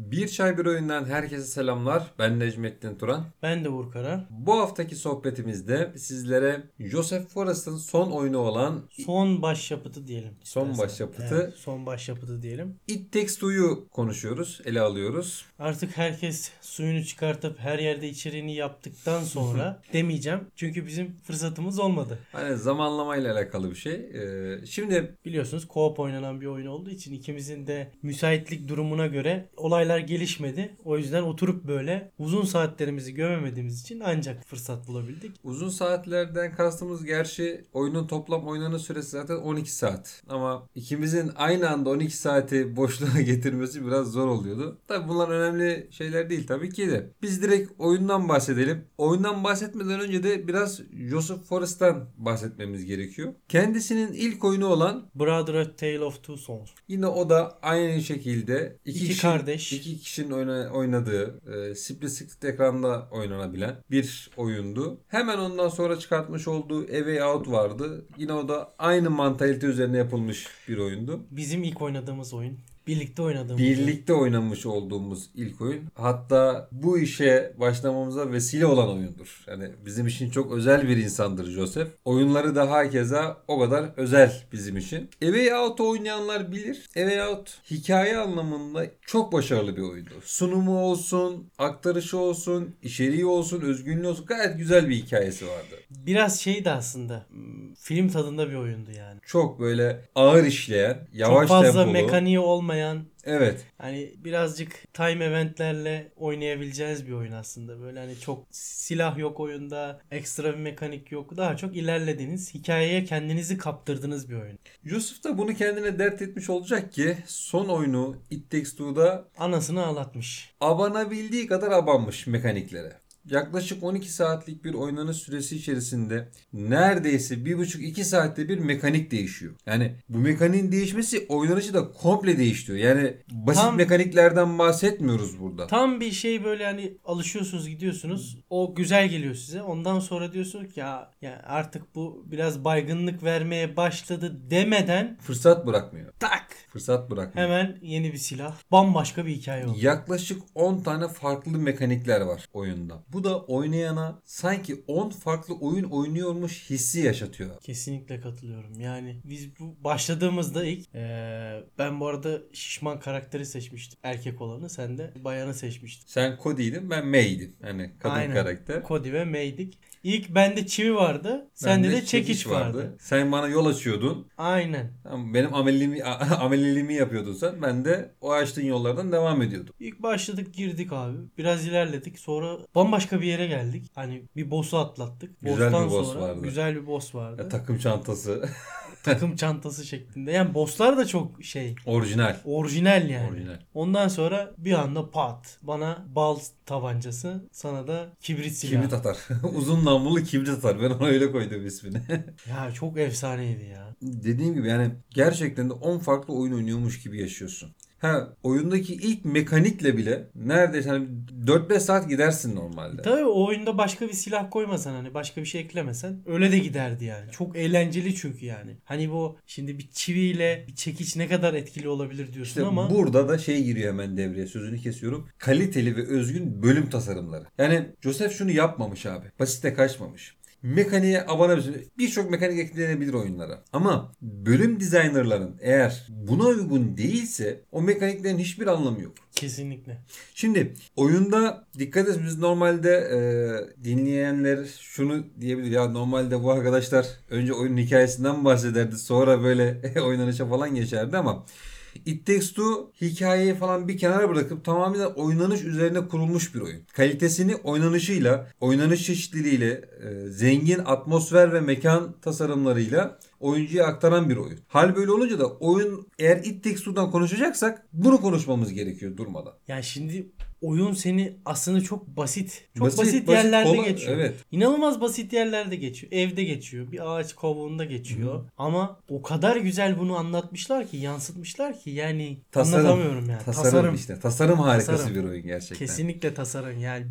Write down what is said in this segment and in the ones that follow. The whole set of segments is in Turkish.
Bir Çay Bir Oyundan herkese selamlar. Ben Necmettin Turan. Ben de Uğur Kara. Bu haftaki sohbetimizde sizlere Joseph Forrest'ın son oyunu olan Son başyapıtı diyelim. son istersen. başyapıtı Evet, son başyapıtı diyelim. It Takes Two'yu konuşuyoruz, ele alıyoruz. Artık herkes suyunu çıkartıp her yerde içeriğini yaptıktan sonra demeyeceğim. Çünkü bizim fırsatımız olmadı. Hani zamanlamayla alakalı bir şey. Şimdi Biliyorsunuz co-op oynanan bir oyun olduğu için ikimizin de müsaitlik durumuna göre olaylar gelişmedi. O yüzden oturup böyle uzun saatlerimizi gömemediğimiz için ancak fırsat bulabildik. uzun saatlerden kastımız gerçi oyunun toplam oynanış süresi zaten 12 saat. Ama ikimizin aynı anda 12 saati boşluğa getirmesi biraz zor oluyordu. Tabi bunlar önemli şeyler değil tabii ki de. Biz direkt oyundan bahsedelim. Oyundan bahsetmeden önce de biraz Joseph Forrest'tan bahsetmemiz gerekiyor. Kendisinin ilk oyunu olan Brother A Tale of Two Souls. yine o da aynı şekilde İki kardeş. iki kişinin oynadığı split screen ekranda oynanabilen bir oyundu. Hemen ondan sonra çıkartmış olduğu A Way Out vardı. Yine o da aynı mantalite üzerine yapılmış bir oyundu. Bizim ilk oynadığımız oyun. Birlikte oynadığımız oyun. Birlikte oynamış olduğumuz ilk oyun. Hatta bu işe başlamamıza vesile olan oyundur. Yani bizim için çok özel bir insandır Joseph. Oyunları da hakeza o kadar özel bizim için. A Way Out'u oynayanlar bilir. A Way Out hikaye anlamında çok başarılı bir oyundu. Sunumu olsun, aktarışı olsun, içeriği olsun, özgünlüğü olsun gayet güzel bir hikayesi vardı. Biraz şeydi aslında. Film tadında bir oyundu yani. Çok böyle ağır işleyen, yavaş Çok fazla tempolu. mekaniği olmayan, Evet. hani birazcık time eventlerle oynayabileceğiniz bir oyun aslında. Böyle hani çok silah yok oyunda, ekstra bir mekanik yok. Daha çok ilerlediğiniz, hikayeye kendinizi kaptırdığınız bir oyun. Yusuf da bunu kendine dert etmiş olacak ki son oyunu It Takes Two'da Anasını ağlatmış. abanabildiği kadar abanmış mekaniklere. Yaklaşık 12 saatlik bir oynanış süresi içerisinde neredeyse 1,5-2 saatte bir mekanik değişiyor. Yani bu mekaniğin değişmesi oynanışı da komple değiştiriyor. Yani basit Tam- mekaniklerden bahsetmiyoruz burada. Tam bir şey böyle hani alışıyorsunuz gidiyorsunuz. O güzel geliyor size. Ondan sonra diyorsunuz ki ya artık bu biraz baygınlık vermeye başladı demeden Fırsat bırakmıyor. tak Fırsat bırakmıyor. hemen yeni bir silah. Bambaşka bir hikaye oldu. Yaklaşık 10 tane farklı mekanikler var oyunda. Bu da oynayana sanki 10 farklı oyun oynuyormuş hissi yaşatıyor. Kesinlikle katılıyorum. Yani biz bu başladığımızda ilk ben bu arada şişman karakteri seçmiştim. Erkek olanı. Sen de bayanı seçmiştin. Sen Cody'ydin, ben May'dim. Yani kadın Aynen. karakter. Cody ve May'dik. İlk bende çivi vardı. Sende Bende de çekiç vardı. Sen bana yol açıyordun. Aynen. Tamam, benim ameliliğimi yapıyordun sen. Ben de o açtığın yollardan devam ediyordum. İlk başladık girdik abi. Biraz ilerledik. Sonra bambaşka bir yere geldik. Hani bir boss'u atlattık. Güzel bir Boss'tan boss sonra vardı. güzel bir boss vardı. Takım çantası. Takım çantası şeklinde. Yani boss'lar da çok şey. Orijinal. Orijinal yani. Orijinal. Ondan sonra bir anda pat. Bana bal tabancası. Sana da kibrit silahı. Kibrit atar. Uzun namlulu kibrit atar. Ben ona öyle koydum ismini. Ya çok efsaneydi ya. Dediğim gibi yani gerçekten de 10 farklı oyun oynuyormuş gibi yaşıyorsun. Oyundaki ilk mekanikle bile neredeyse hani 4-5 saat gidersin normalde. Tabii o oyunda başka bir silah koymasan hani başka bir şey eklemesen öyle de giderdi yani. Çok eğlenceli çünkü yani. Hani bu şimdi bir çiviyle bir çekiç ne kadar etkili olabilir diyorsun İşte ama burada da şey giriyor hemen devreye, sözünü kesiyorum. Kaliteli ve özgün bölüm tasarımları. Yani Joseph şunu yapmamış abi. Basite kaçmamış. Mekaniğe abanabilir. Birçok mekanik eklenebilir oyunlara. Ama bölüm designerların eğer buna uygun değilse o mekaniklerin hiçbir anlamı yok. kesinlikle. Şimdi oyunda dikkat et, biz normalde dinleyenler şunu diyebilir ya, normalde bu arkadaşlar önce oyunun hikayesinden bahsederdi, sonra böyle oynanışa falan geçerdi ama It Takes Two hikayeyi falan bir kenara bırakıp tamamen oynanış üzerine kurulmuş bir oyun. Kalitesini oynanışıyla, oynanış çeşitliliğiyle, zengin atmosfer ve mekan tasarımlarıyla oyuncuya aktaran bir oyun. Hal böyle olunca da oyun, eğer It Takes Two'dan konuşacaksak bunu konuşmamız gerekiyor durmadan. Yani şimdi oyun seni aslında çok basit. Çok Basit, basit, yerlerde kolay, geçiyor. evet. İnanılmaz basit yerlerde geçiyor. Evde geçiyor. Bir ağaç kovuğunda geçiyor. Ama o kadar güzel bunu anlatmışlar ki, yansıtmışlar ki yani anlatamıyorum yani. Tasarım işte. Tasarım harikası Tasarım. bir oyun gerçekten. Kesinlikle tasarım. Yani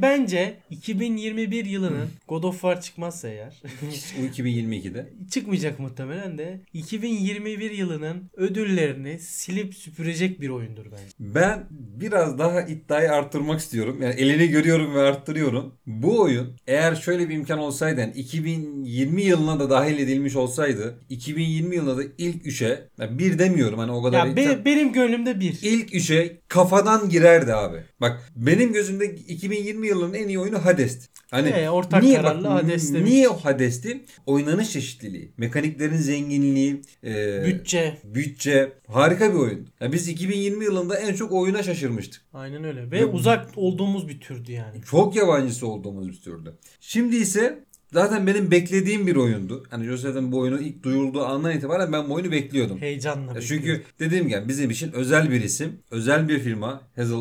bence 2021 yılının God of War çıkmazsa eğer Bu 2022'de. çıkmayacak olmayacak muhtemelen de 2021 yılının ödüllerini silip süpürecek bir oyundur bence. Ben biraz daha iddiayı arttırmak istiyorum. Yani elini görüyorum ve arttırıyorum. Bu oyun eğer şöyle bir imkan olsaydı, yani 2020 yılına da dahil edilmiş olsaydı, 2020 yılında da ilk 3'e, yani bir demiyorum hani o kadar. Ya benim gönlümde bir. İlk 3'e kafadan girerdi abi. Bak benim gözümde 2020 yılının en iyi oyunu Hades'ti. Hani Ortak niye kararlı Hades demiştik. niye o Hades'ti? Oynanış çeşitliliği, mekaniklerin zenginliği, bütçe harika bir oyun. Yani biz 2020 yılında en çok oyuna şaşırmıştık. Aynen öyle. Ve uzak olduğumuz bir türdü yani. Çok yabancısı olduğumuz bir türdü. Şimdi ise zaten benim beklediğim bir oyundu. Hani Joseph'in bu oyunu ilk duyulduğu andan itibaren ben bu oyunu bekliyordum. Heyecanla Çünkü dediğim gibi bizim için özel bir isim, özel bir firma,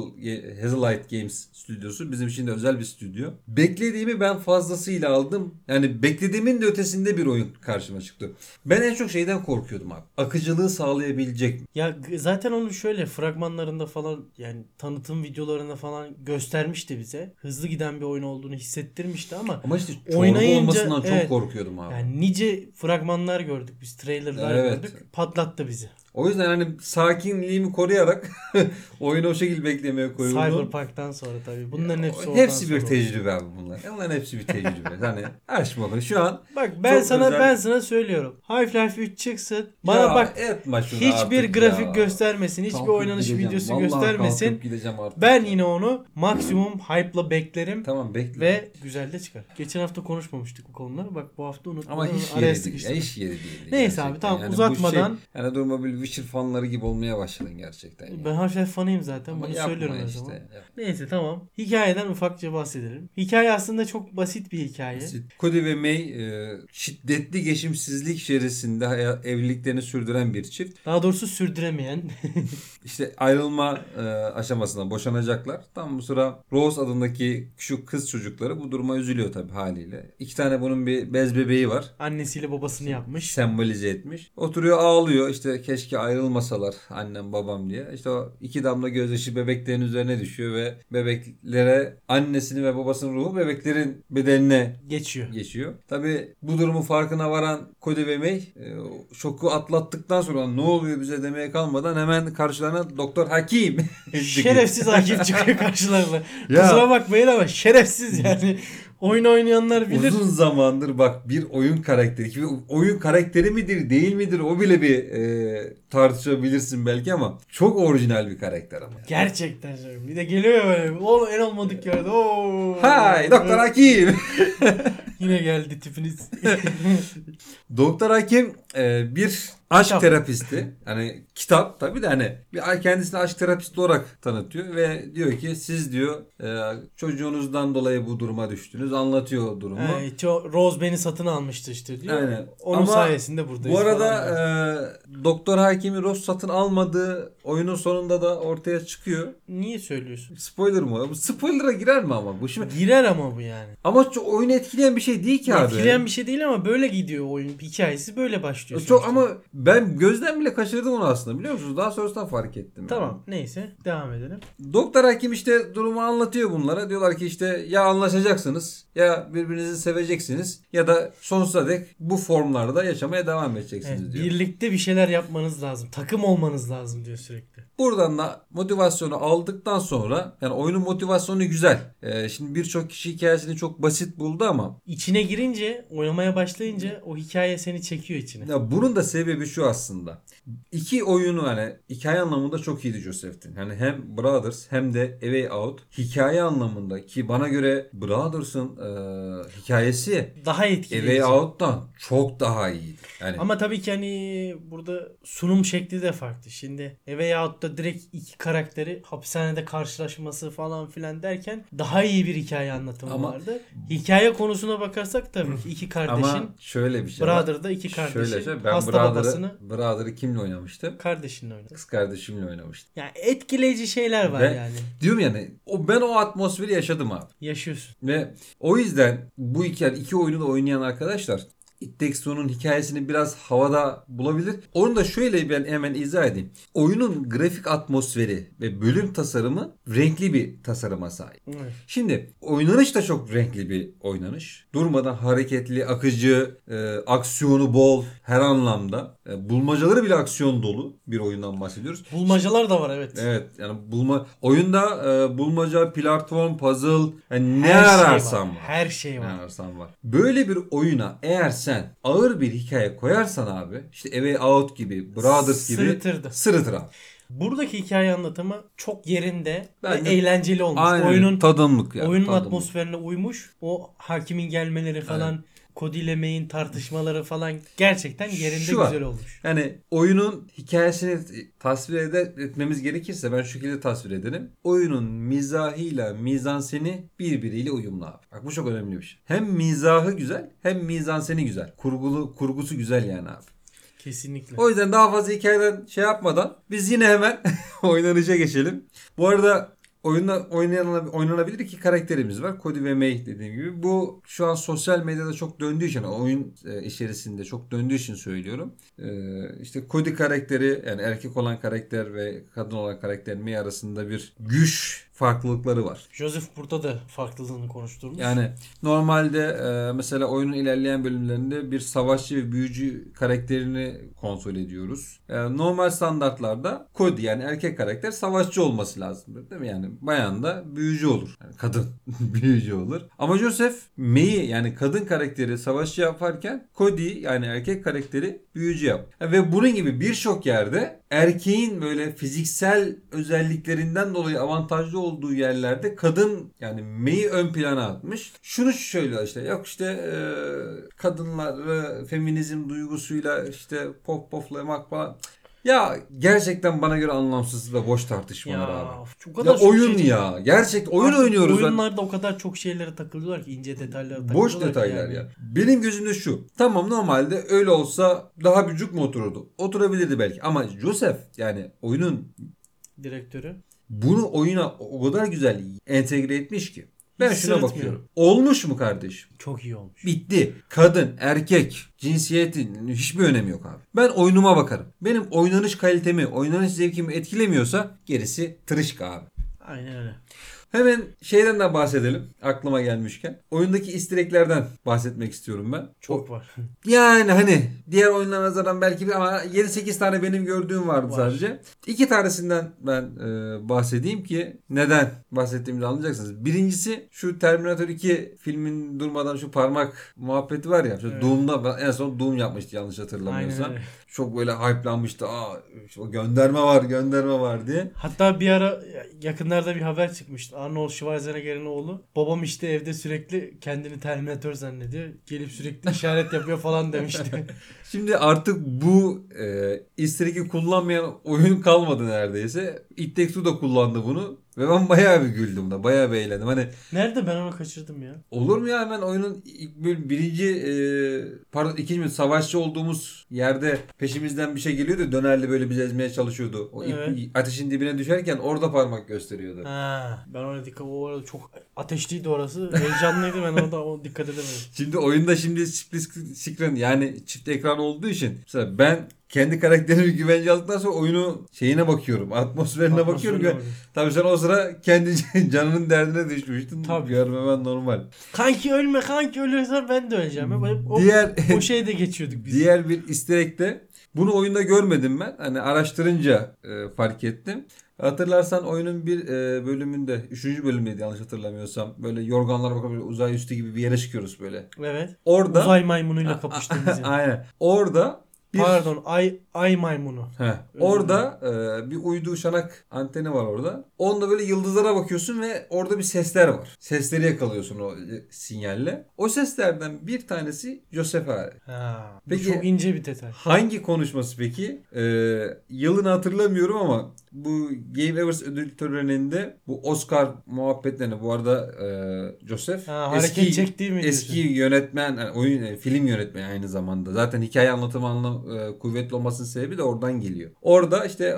Hazelight Games stüdyosu bizim için de özel bir stüdyo. Beklediğimi ben fazlasıyla aldım. Yani beklediğimin de ötesinde bir oyun karşıma çıktı. Ben en çok şeyden korkuyordum abi. Akıcılığı sağlayabilecek mi? Ya zaten onu şöyle fragmanlarında falan, yani tanıtım videolarında falan göstermişti bize. Hızlı giden bir oyun olduğunu hissettirmişti ama işte çorba oynayınca olmasından çok korkuyordum abi. Yani nice fragmanlar gördük biz, trailerlar gördük. Patlattı bizi. O yüzden hani sakinliğimi koruyarak oyunu o şekilde beklemeye koyuldum. Cyberpunk'tan sonra tabii. Bunların hepsi oradan hepsi bir sonra tecrübe abi bunlar. Bunların hepsi bir tecrübe. Hani aç bakın şu an. Bak ben özel... sana söylüyorum. Half-Life 3 çıksın. Bana bak hiçbir grafik göstermesin. Hiçbir oynanış videosu vallahi göstermesin. Ben yine onu maksimum hype'la beklerim. Tamam bekle. Ve güzel de çıkar. Geçen hafta konuşmamıştık bu konuları. Bak bu hafta unuttum. Ama hiç yeri değil. Hiç yeri değil. Neyse abi tamam yani uzatmadan. Yani durma bir Witcher fanları gibi olmaya başladın gerçekten. Yani. Ben Half-Life fanıyım zaten. Ama bunu söylüyorum her zaman. Neyse tamam. Hikayeden ufakça bahsedelim. Hikaye aslında çok basit bir hikaye. Cody ve May şiddetli geçimsizlik içerisinde evliliklerini sürdüren bir çift. Daha doğrusu sürdüremeyen. İşte ayrılma aşamasına boşanacaklar. Tam bu sıra Rose adındaki şu kız çocukları bu duruma üzülüyor tabii haliyle. 2 tane bunun bir bez bebeği var. Annesiyle babasını yapmış. Sembolize etmiş. Oturuyor ağlıyor işte keşke ayrılmasalar annem babam diye. İşte o 2 damla gözyaşı bebeklerin üzerine düşüyor ve bebeklere annesinin ve babasının ruhu bebeklerin bedenine geçiyor. Tabii bu durumun farkına varan Cody ve May şoku atlattıktan sonra ne oluyor bize demeye kalmadan hemen karşılarına Doktor Hakim. Şerefsiz hakim çıkıyor karşılarına. Kusura bakmayın ama şerefsiz yani. Oyun oynayanlar bilir. Uzun zamandır bak bir oyun karakteri. Oyun karakteri midir değil midir o bile bir tartışabilirsin belki ama çok orijinal bir karakter ama. Yani. Gerçekten canım. Bir de geliyor böyle. Oğlum en olmadık yerde. Hay Doktor Hakim. Yine geldi tipiniz. Doktor Hakim bir aşk terapisti. Hani kitap tabii de hani bir kendisini aşk terapisti olarak tanıtıyor ve diyor ki siz diyor çocuğunuzdan dolayı bu duruma düştünüz. Anlatıyor durumu. Rose beni satın almıştı işte diyor. Aynen. Onun ama sayesinde buradayız. Bu arada Doktor Hakim'i Rose satın almadığı oyunun sonunda da ortaya çıkıyor. Niye söylüyorsun? Spoiler mı? Bu spoiler'a girer mi ama? Bu şimdi... Girer ama bu yani. Ama çok oyunu etkileyen bir şey değil ki abi. Etkileyen bir şey değil ama böyle gidiyor oyun. Hikayesi böyle başlıyor. Çok ama ben gözden bile kaçırdım onu aslında biliyor musunuz? Daha sonrasında fark ettim. Tamam yani. neyse devam edelim. Doktor Hakim işte durumu anlatıyor bunlara. Diyorlar ki işte ya anlaşacaksınız ya birbirinizi seveceksiniz ya da sonsuza dek bu formlarda yaşamaya devam edeceksiniz diyor. Birlikte bir şeyler yapmanız lazım. Takım olmanız lazım diyor sürekli. Buradan da motivasyonu aldıktan sonra yani oyunun motivasyonu güzel. Şimdi birçok kişi hikayesini çok basit buldu ama içine girince, oynamaya başlayınca o hikaye seni çekiyor içine. Ya bunun da sebebi şu aslında. İki oyunu hani hikaye anlamında çok iyiydi Joseph'tin. Hani hem Brothers hem de A Way Out hikaye anlamında ki bana göre Brothers'ın hikayesi daha etkileyici. A Way Out'tan çok daha iyiydi. Yani ama tabii ki hani burada sunum şekli de farklı. Şimdi A Way Out'ta direkt iki karakteri hapishanede karşılaşması falan filan derken daha iyi bir hikaye anlatımı vardı. Hikaye konusuna bakarsak tabii ki iki kardeşin ama şöyle bir şey Brother'da iki kardeşin ben hasta Brother'ı kimle oynamıştım? Kardeşinle oynadım. Kız kardeşimle oynamıştım. Yani etkileyici şeyler var yani. Diyorum yani ben o atmosferi yaşadım abi. Yaşıyorsun. Ve o yüzden bu iki oyunu da oynayan arkadaşlar It Takes Two'nun hikayesini biraz havada bulabilir. Onu da şöyle ben hemen izah edeyim. Oyunun grafik atmosferi ve bölüm tasarımı renkli bir tasarıma sahip. Evet. Şimdi oynanış da çok renkli bir oynanış. Durmadan hareketli, akıcı, aksiyonu bol her anlamda. Bulmacaları bile aksiyon dolu bir oyundan bahsediyoruz. Bulmacalar da var, evet. Evet, yani oyunda bulmaca, platform, puzzle, yani ne Her şey ararsan var. Her şey Ne var. ararsan var. Böyle bir oyuna eğer sen ağır bir hikaye koyarsan abi, işte A Way Out gibi, Brothers gibi Sırıtırdı. sırıtır abi. Buradaki hikaye anlatımı çok yerinde Bence ve eğlenceli olmuş. Aynen, Oyunun tadımlık yani. oyunun tadımlık. atmosferine uymuş. O hakimin gelmeleri falan, Cody ile May'in tartışmaları falan gerçekten yerinde Şu var. güzel olmuş. Yani oyunun hikayesini tasvir etmemiz gerekirse ben şu şekilde tasvir ederim. Oyunun mizahıyla mizanseni birbiriyle uyumlu abi. Bak bu çok önemli bir şey. Hem mizahı güzel hem mizanseni güzel. Kurgusu güzel yani abi. Kesinlikle. O yüzden daha fazla hikayeden şey yapmadan biz yine hemen oynanışa geçelim. Bu arada oyunda oynanabilir iki karakterimiz var. Cody ve May dediğim gibi. Bu şu an sosyal medyada çok döndüğü için, oyun içerisinde çok döndüğü için söylüyorum. İşte Cody karakteri, yani erkek olan karakter ve kadın olan karakter May arasında bir güç farklılıkları var. Joseph burada da farklılığını konuşturmuş. Yani normalde mesela oyunun ilerleyen bölümlerinde bir savaşçı ve büyücü karakterini kontrol ediyoruz. Normal standartlarda Cody, yani erkek karakter, savaşçı olması lazım, değil mi? Yani bayan da büyücü olur. Yani kadın büyücü olur. Ama Joseph May'i, yani kadın karakteri savaşçı yaparken Cody, yani erkek karakteri büyücü yap. Ve bunun gibi birçok yerde erkeğin böyle fiziksel özelliklerinden dolayı avantajlı olduğu yerlerde kadın, yani May'i ön plana atmış. Şunu söylüyor işte, yok işte kadınları feminizm duygusuyla işte poflamak falan. Ya gerçekten bana göre anlamsız ve boş tartışmalar Ya, abi. o kadar Ya çok oyun şey- ya. Gerçek oyun Artık oynuyoruz. oyunlarda o kadar çok şeylere takılıyorlar ki, ince detaylara takılıyorlar Boş ki detaylar yani. ya. Benim gözümde şu. Tamam, normalde öyle olsa daha bir cuk mu otururdu? Oturabilirdi belki. Ama Joseph, yani oyunun Direktörü. bunu oyuna o kadar güzel entegre etmiş ki. Ben Hiç şuna sırıtmıyor. bakıyorum. Olmuş mu kardeşim? Çok iyi olmuş. Bitti. Kadın, erkek, cinsiyetin hiçbir önemi yok abi. Ben oyunuma bakarım. Benim oynanış kalitemi, oynanış zevkimi etkilemiyorsa gerisi tırışka abi. Aynen öyle. Hemen şeyden de bahsedelim. Aklıma gelmişken. Oyundaki easter egg'lerden bahsetmek istiyorum ben. Çok var. Yani hani diğer oyunlara nazaran belki ama 7-8 tane benim gördüğüm vardı Var. sadece. 2 tanesinden ben bahsedeyim ki neden bahsettiğimizi anlayacaksınız. Birincisi, şu Terminator 2 filmin durmadan şu parmak muhabbeti var ya. Şu Evet. Doom'da, en son Doom yapmıştı yanlış hatırlamıyorsam. Aynen öyle. Çok böyle hype'lanmıştı. İşte o gönderme var diye. Hatta bir ara yakınlarda bir haber çıkmıştı. Arnold Schwarzenegger'in oğlu. Babam işte evde sürekli kendini Terminator zannediyor. Gelip sürekli işaret yapıyor falan demişti. Şimdi artık bu easter egg'i kullanmayan oyun kalmadı neredeyse. It Takes Two da kullandı bunu. Ve ben bayağı bir güldüm da. Bayağı bir eğlendim. Hani Nerede, ben onu kaçırdım ya. olur mu ya, hemen oyunun ikinci savaşçı olduğumuz yerde peşimizden bir şey geliyordu. Dönerli böyle bizi ezmeye çalışıyordu. O Evet. ateşin dibine düşerken orada parmak gösteriyordu. Ha, ben ona dikkat, o arada çok ateşliydi orası. Heyecanlıydı, ben orada dikkat edemedim. Şimdi oyunda split screen, yani çift ekran olduğu için mesela ben kendi karakterimi güvence aldıktan sonra oyunu şeyine bakıyorum. Atmosferine bakıyorum. Tabii sen o sıra kendi canının derdine düşmüştün. Tabii. Görmemen normal. Kanki ölme, kanki ölürsen ben de öleceğim. O şeyde geçiyorduk biz. Diğer bir easter egg de, bunu oyunda görmedim ben. Hani araştırınca fark ettim. Hatırlarsan oyunun bir bölümünde, 3. bölümdeydi yanlış hatırlamıyorsam. Böyle yorganlara bakıp böyle uzay üstü gibi bir yere çıkıyoruz böyle. Evet. Orada Uzay maymunuyla kapıştığımız yer. aynen. Orada Pardon, ay maymunu. Orada bir uydu uşanak anteni var orada. Onda böyle yıldızlara bakıyorsun ve orada bir sesler var. Sesleri yakalıyorsun o sinyalle. O seslerden bir tanesi Joseph Ari. Ha, bu Peki, çok ince bir detay. hangi konuşması peki? Yılını hatırlamıyorum ama bu Game Awards ödül töreninde bu Oscar muhabbetlerini, bu arada Joseph Hareket çektiği mi eski diyorsun? yönetmen, yani film yönetmeni aynı zamanda. Zaten hikaye anlatımı kuvvetli olmasının sebebi de oradan geliyor. Orada işte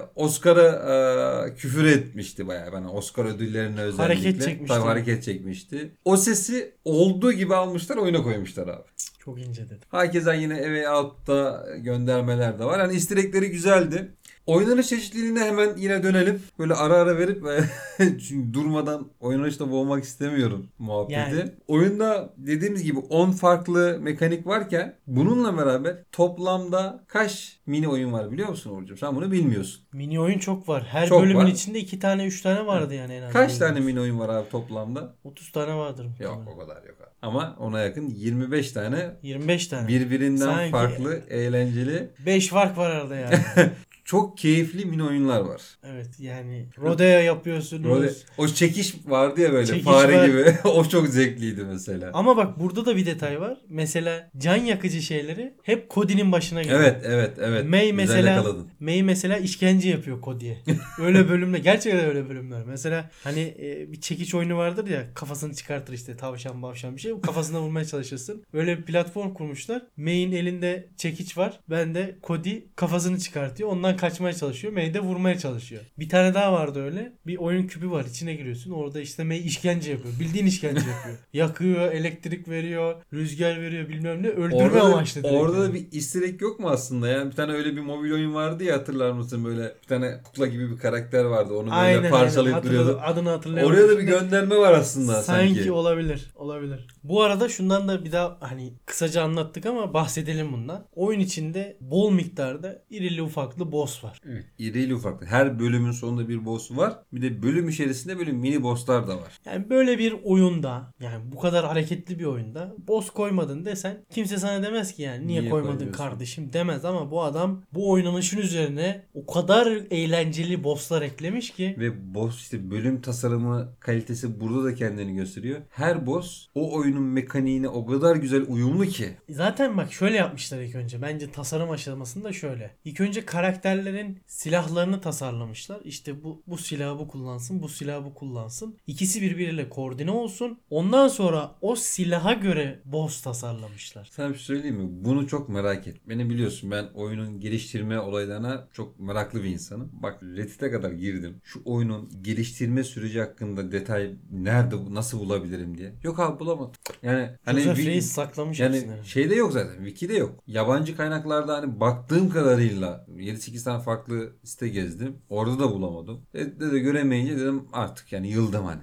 Oscar'a küfür etmişti bayağı. Yani Oscar ödüllerine özellikle. Hareket çekmişti. Tabii hareket çekmişti. O sesi olduğu gibi almışlar, oyuna koymuşlar abi. Çok ince dedim. Hakeza yine A Way Out'ta göndermeler de var. Yani easter egg'leri güzeldi. Oynanış çeşitliliğine hemen yine dönelim. Böyle ara ara verip çünkü durmadan oynanışta boğmak istemiyorum muhabbeti. Yani. Oyunda dediğimiz gibi 10 farklı mekanik varken bununla beraber toplamda kaç mini oyun var biliyor musun Uğurcuğum? Sen bunu bilmiyorsun. Mini oyun çok var. Her Çok bölümün var. içinde 2 tane 3 tane vardı yani en az. Kaç tane mini oyun var abi toplamda? 30 tane vardır Yok muhtemelen. o kadar yok abi. Ama ona yakın 25 tane 25 tane. birbirinden Sanki farklı, eğlenceli, 5 fark var arada yani. çok keyifli mini oyunlar var. Evet yani rodeo yapıyorsunuz. Böyle, o çekiş vardı ya böyle Çekiş fare var. gibi. O çok zevkliydi mesela. Ama bak burada da bir detay var. Mesela can yakıcı şeyleri hep Cody'nin başına geliyor. Evet. May Güzel mesela yakaladın. May mesela işkence yapıyor Cody'ye. Öyle bölümler. Gerçekten öyle bölümler. Mesela hani bir çekiç oyunu vardır ya, kafasını çıkartır işte tavşan bavşan bir şey. Kafasına vurmaya çalışırsın. Öyle bir platform kurmuşlar. May'in elinde çekiç var. Ben de Cody kafasını çıkartıyor. Ondan kaçmaya çalışıyor. May de vurmaya çalışıyor. Bir tane daha vardı öyle. Bir oyun küpü var. İçine giriyorsun. Orada işte May işkence yapıyor. Bildiğin işkence yapıyor. Yakıyor, elektrik veriyor, rüzgar veriyor, bilmem ne. Öldürme amaçlı direkt Orada da yani. bir easter egg yok mu aslında? Yani bir tane öyle bir mobil oyun vardı ya, hatırlar mısın? Böyle bir tane kukla gibi bir karakter vardı. Onu böyle parçalayıp duruyordu. Adını hatırlayamadım. Oraya da bir Şimdi gönderme var aslında sanki. olabilir. Olabilir. Bu arada şundan da bir daha hani kısaca anlattık ama bahsedelim bundan. Oyun içinde bol miktarda irili ufaklı boss var. Evet. İrili ufaklı. Her bölümün sonunda bir boss var. Bir de bölüm içerisinde böyle mini bosslar da var. Yani böyle bir oyunda, yani bu kadar hareketli bir oyunda boss koymadın desen kimse sana demez ki yani niye koymadın koymuyorsun? kardeşim demez, ama bu adam bu oynanışın üzerine o kadar eğlenceli bosslar eklemiş ki. Ve boss işte bölüm tasarımı kalitesi burada da kendini gösteriyor. Her boss o oyunun mekaniğine o kadar güzel uyumlu ki. Zaten bak şöyle yapmışlar ilk önce. Bence tasarım aşamasında şöyle. İlk önce karakterlerin silahlarını tasarlamışlar. İşte bu silahı bu kullansın, bu silahı bu kullansın. İkisi birbiriyle koordine olsun. Ondan sonra o silaha göre boss tasarlamışlar. Sana bir şey söyleyeyim mi? Bunu çok merak et. Beni biliyorsun, ben oyunun geliştirme olaylarına çok meraklı bir insanım. Bak Reddit'e kadar girdim. Şu oyunun geliştirme süreci hakkında detay nerede, nasıl bulabilirim diye. Yok abi, bulamadım. Yani hani Joseph Reis saklamış yani hepsini. şeyde yok zaten. Wiki'de yok. Yabancı kaynaklarda hani baktığım kadarıyla 7-8 tane farklı site gezdim. Orada da bulamadım. Reddit'te de göremeyince dedim artık yani yıldım hani.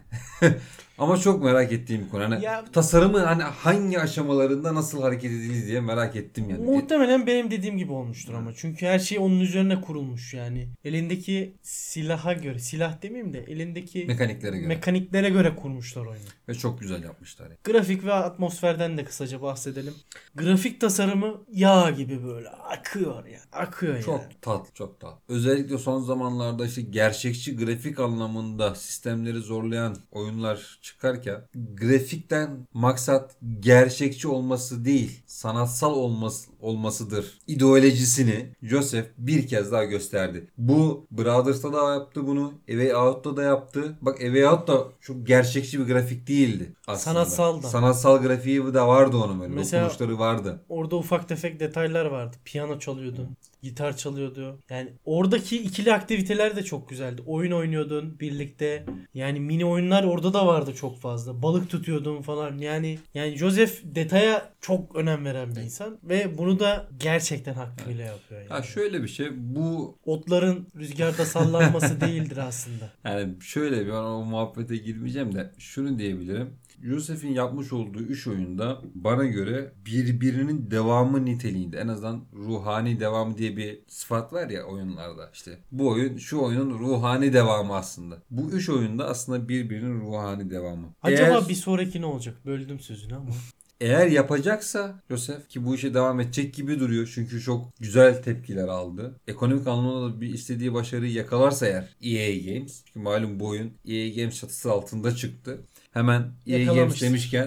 Ama çok merak ettiğim bir konu. Hani Ya, tasarımı hani hangi aşamalarında nasıl hareket edildi diye merak ettim yani. muhtemelen benim dediğim gibi olmuştur ama. Çünkü her şey onun üzerine kurulmuş yani. Elindeki silaha göre, silah demeyeyim de elindeki Mekaniklere göre. mekaniklere göre kurmuşlar oyunu. Ve çok güzel yapmışlar. Yani. Grafik ve atmosferden de kısaca bahsedelim. Grafik tasarımı yağ gibi böyle akıyor yani. Akıyor yani. Çok tatlı, çok tatlı. Özellikle son zamanlarda işte gerçekçi grafik anlamında sistemleri zorlayan oyunlar çıkarken grafikten maksat gerçekçi olması değil, sanatsal olmasıdır ideolojisini Joseph bir kez daha gösterdi. Bu Brothers'ta da yaptı bunu, A Way Out'ta da yaptı. Bak A Way Out da çok gerçekçi bir grafik değildi aslında. Sanatsal da. Sanatsal grafiği de vardı onun böyle. Mesela Dokunuşları vardı. orada ufak tefek detaylar vardı. Piyano çalıyordu. Gitar çalıyordu. Yani oradaki ikili aktiviteler de çok güzeldi. Oyun oynuyordun birlikte. Yani mini oyunlar orada da vardı çok fazla. Balık tutuyordun falan. Yani Joseph detaya çok önem veren bir insan ve bunu da gerçekten hakkıyla yapıyor yani. Ha şöyle bir şey, bu Otların rüzgarda sallanması değildir aslında. yani şöyle bir, o muhabbete girmeyeceğim de şunu diyebilirim. Joseph'in yapmış olduğu 3 oyunda bana göre birbirinin devamı niteliğinde, en azından ruhani devamı diye bir sıfat var ya oyunlarda, işte bu oyun şu oyunun ruhani devamı aslında. Bu 3 oyunda aslında birbirinin ruhani devamı. Acaba bir sonraki ne olacak? Böldüm sözünü ama. Eğer yapacaksa Joseph, ki bu işe devam edecek gibi duruyor çünkü çok güzel tepkiler aldı. Ekonomik anlamda da bir istediği başarıyı yakalarsa eğer EA Games, çünkü malum bu oyun EA Games çatısı altında çıktı. Hemen EA Games demişken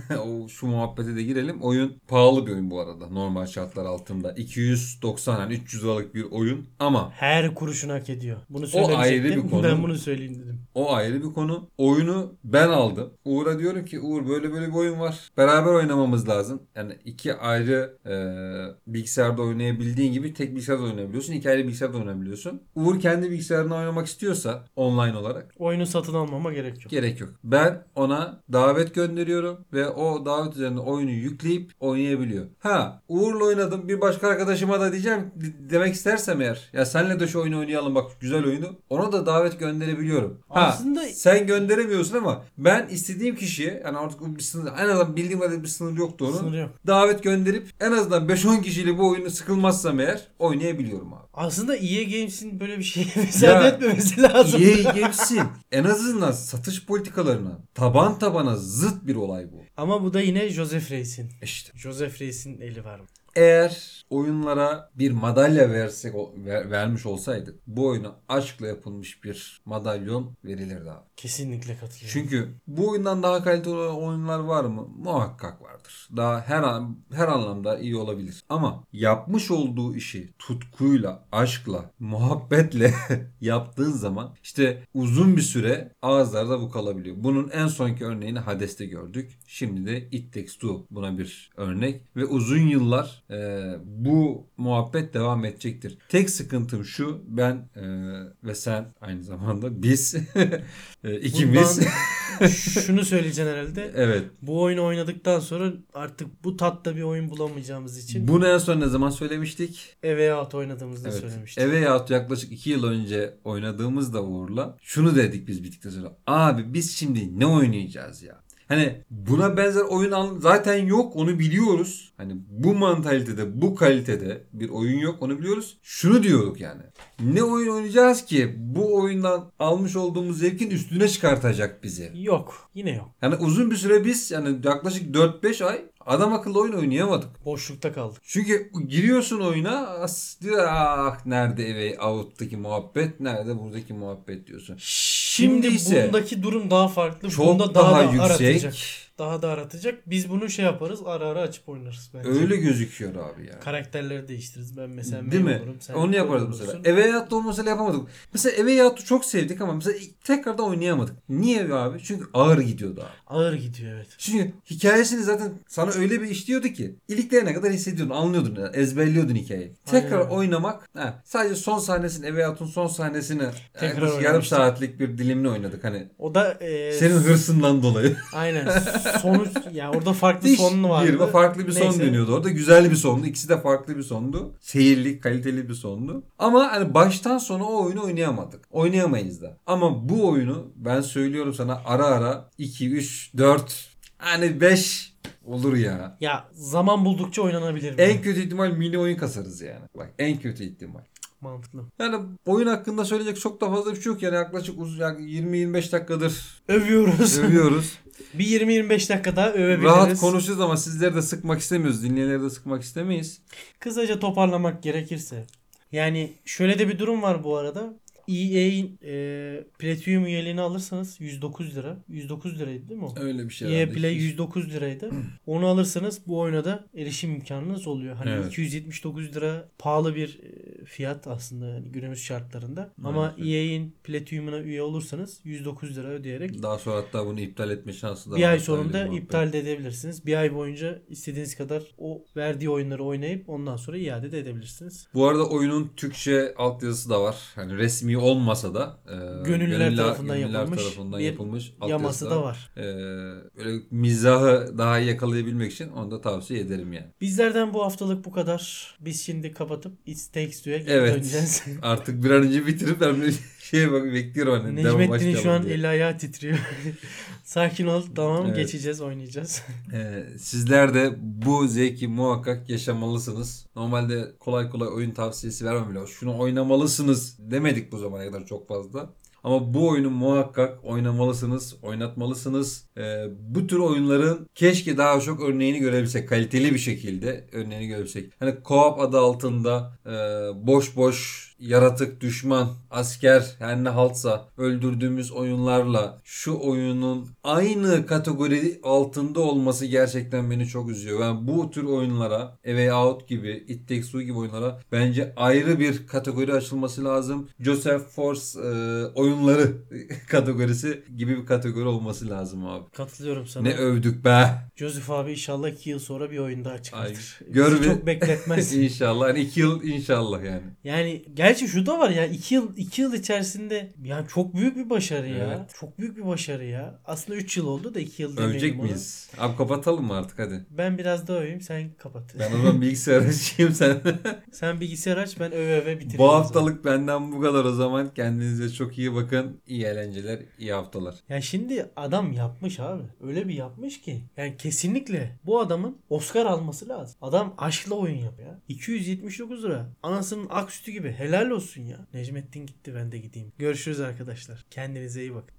şu muhabbete de girelim. Oyun pahalı bir oyun bu arada normal şartlar altında. 290 yani 300 liralık bir oyun ama Her kuruşunu hak ediyor. Bunu ayrı bir söylemeyecektim. konu. Ben bunu söyleyeyim dedim. O ayrı bir konu. Oyunu ben aldım. Uğur'a diyorum ki Uğur böyle böyle bir oyun var. Beraber oynamamız lazım. Yani iki ayrı bilgisayarda oynayabildiğin gibi tek bilgisayarda oynayabiliyorsun. İki ayrı bilgisayarda oynayabiliyorsun. Uğur kendi bilgisayarına oynamak istiyorsa online olarak Oyunu satın almama gerek yok. gerek yok. Ben ona davet gönderiyorum ve o davet üzerinde oyunu yükleyip oynayabiliyor. Ha, Uğur'la oynadım. Bir başka arkadaşıma da diyeceğim demek istersem eğer ya senle de şu oyunu oynayalım bak güzel oyunu. Ona da davet gönderebiliyorum. Ha, Aslında sen gönderemiyorsun ama ben istediğim kişiye yani artık bir sınır, en azından bildiğim kadarıyla bir sınır yoktu onun. sınır yok. Davet gönderip en azından 5-10 kişiyle bu oyunu sıkılmazsam eğer oynayabiliyorum abi. Aslında EA Games'in böyle bir şeye müsaade etmemesi lazım. EA Games'in en azından satış politikalarına taban tabana zıt bir olay bu. Ama bu da yine Joseph Reis'in. İşte Joseph Reis'in eli var. eğer oyunlara bir madalya vermiş olsaydı bu oyuna aşkla yapılmış bir madalyon verilirdi abi. Kesinlikle katılıyorum. Çünkü bu oyundan daha kaliteli oyunlar var mı? Muhakkak vardır. Daha her anlamda iyi olabilir. Ama yapmış olduğu işi tutkuyla, aşkla, muhabbetle yaptığın zaman işte uzun bir süre ağızlarda bu kalabiliyor. Bunun en sonki örneğini Hades'te gördük. Şimdi de It Takes Two buna bir örnek ve uzun yıllar bu muhabbet devam edecektir. Tek sıkıntım şu, ben ve sen aynı zamanda biz ikimiz Şunu söyleyeceksin herhalde. evet. Bu oyunu oynadıktan sonra artık bu tatta bir oyun bulamayacağımız için Bunu en son ne zaman söylemiştik? Eve Out oynadığımızda Evet. söylemiştik. Eve Out yaklaşık 2 yıl önce oynadığımızda Uğur'la şunu dedik biz bittikten sonra. Abi biz şimdi ne oynayacağız ya? Hani buna benzer oyun zaten yok, onu biliyoruz. Hani bu mantalitede, bu kalitede bir oyun yok, onu biliyoruz. Şunu diyorduk yani. Ne oyun oynayacağız ki bu oyundan almış olduğumuz zevkin üstüne çıkartacak bizi? Yok. Yine yok. Yani uzun bir süre biz yani yaklaşık 4-5 ay adam akıllı oyun oynayamadık. Boşlukta kaldık. Çünkü giriyorsun oyuna diyor ah nerede Eve Out'taki muhabbet, nerede buradaki muhabbet diyorsun. Şimdi ise bundaki durum daha farklı. çok Bunda daha da yüksek. aratacak. Daha da aratacak. Biz bunu şey yaparız. Ara ara açıp oynarız bence. Öyle gözüküyor abi yani. Karakterleri değiştiririz. Ben mesela Değil May mi? olurum. Sen Onu yaparız Cole mesela. olursun. Eve Out'ta onu mesela yapamadık. Mesela Eve Out'u çok sevdik ama mesela tekrardan oynayamadık. Niye abi? Çünkü ağır gidiyordu abi. Ağır gidiyor evet. Çünkü hikayesini zaten sana öyle bir işliyordu ki iliklerine kadar hissediyordun, anlıyordun, yani, ezberliyordun hikayeyi. Tekrar Aynen. oynamak, sadece son sahnesini, Eve Out'un son sahnesini Tekrar yaklaşık yarım oynamıştık. saatlik bir dilimini oynadık hani. O da Senin hırsından dolayı. aynen. Sonuç ya orada farklı Diş sonlu vardı. girme farklı bir son Neyse. dönüyordu orada. Güzel bir sondu. İkisi de farklı bir sondu. Seyirli, kaliteli bir sondu. Ama hani baştan sona o oyunu oynayamadık. Oynayamayız da. Ama bu oyunu ben söylüyorum sana ara ara 2, 3, 4 hani 5 olur ya. Ya zaman buldukça oynanabilir. En kötü ihtimal mini oyun kasarız yani. Bak en kötü ihtimal. Mantıklı. Yani oyun hakkında söyleyecek çok da fazla bir şey yok. Yani yaklaşık yani 20-25 dakikadır Övüyoruz. övüyoruz. Bir 20-25 dakika daha övebiliriz. Rahat konuşuyoruz ama sizleri de sıkmak istemiyoruz. Dinleyenleri de sıkmak istemeyiz. Kısaca toparlamak gerekirse. Yani şöyle de bir durum var bu arada. EA'in Platinum üyeliğini alırsanız 109 lira. 109 liraydı değil mi o? Öyle bir şey EA herhalde. Play 109 liraydı. Onu alırsanız bu oyuna da erişim imkanınız oluyor. Hani Evet. 279 lira pahalı bir fiyat aslında yani günümüz şartlarında. Ama Evet. EA'in Platinum'una üye olursanız 109 lira ödeyerek Daha sonra hatta bunu iptal etme şansı da var. bir ay Öyle sonunda bir muhabbet. iptal de edebilirsiniz. Bir ay boyunca istediğiniz kadar o verdiği oyunları oynayıp ondan sonra iade de edebilirsiniz. Bu arada oyunun Türkçe altyazısı da var. Hani resmi olmasa da Gönüllüler tarafından gönüllüler yapılmış tarafından bir yapılmış yaması da var. Böyle mizahı daha iyi yakalayabilmek için onu da tavsiye ederim yani. Bizlerden bu haftalık bu kadar. Biz şimdi kapatıp It Takes Two'ya geri Evet. döneceğiz. Artık bir an önce bitirip ben bir şeye bak bekliyorum hani. devam Necmettin'in şu başlayalım an diye. eli ayağı titriyor. Sakin ol, tamam, Evet. geçeceğiz, oynayacağız. Sizler de bu zevki muhakkak yaşamalısınız. Normalde kolay kolay oyun tavsiyesi vermem bile. Şunu oynamalısınız demedik bu zamana kadar çok fazla. Ama bu oyunu muhakkak oynamalısınız, oynatmalısınız. Bu tür oyunların keşke daha çok örneğini görebilsek. Kaliteli bir şekilde örneğini görebilsek. Hani co-op adı altında boş boş yaratık, düşman, asker her ne haltsa öldürdüğümüz oyunlarla şu oyunun aynı kategori altında olması gerçekten beni çok üzüyor. Ben bu tür oyunlara, A Way Out gibi, It Takes Two gibi oyunlara bence ayrı bir kategori açılması lazım. Joseph Force oyunları kategorisi gibi bir kategori olması lazım abi. Katılıyorum sana. Ne övdük be. Joseph abi inşallah 2 yıl sonra bir oyun daha Ay, çıkartır. gör Bizi bir- çok bekletmez. İnşallah. Yani 2 yıl inşallah yani. Yani gerçi şu da var ya, 2 yıl içerisinde yani çok büyük bir başarı ya. Evet. Çok büyük bir başarı ya. Aslında 3 yıl oldu da 2 yıl Övecek demeyelim ona. miyiz? Abi kapatalım mı artık hadi. Ben biraz daha öveyim, sen kapat. Ben o zaman bilgisayar açayım sen. Sen bilgisayar aç, ben öve öve bitireyim. Bu o zaman. haftalık benden bu kadar o zaman. Kendinize çok iyi bakın. İyi eğlenceler, iyi haftalar. Ya şimdi adam yapmış abi. Öyle bir yapmış ki. Yani kesinlikle bu adamın Oscar alması lazım. Adam aşkla oyun yapıyor. 279 lira. Anasının ak sütü gibi. Helal olsun ya. Necmettin gitti, ben de gideyim. Görüşürüz arkadaşlar. Kendinize iyi bakın.